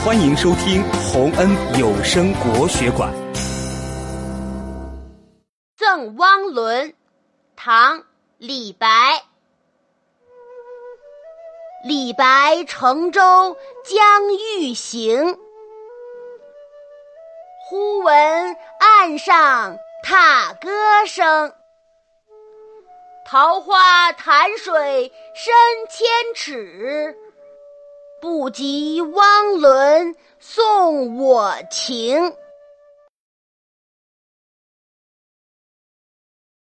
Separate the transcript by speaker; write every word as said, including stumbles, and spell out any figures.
Speaker 1: 欢迎收听洪恩有声国学馆。
Speaker 2: 赠汪伦，唐·李白。李白乘舟将欲行，忽闻岸上踏歌声。桃花潭水深千尺，不及汪伦送我情。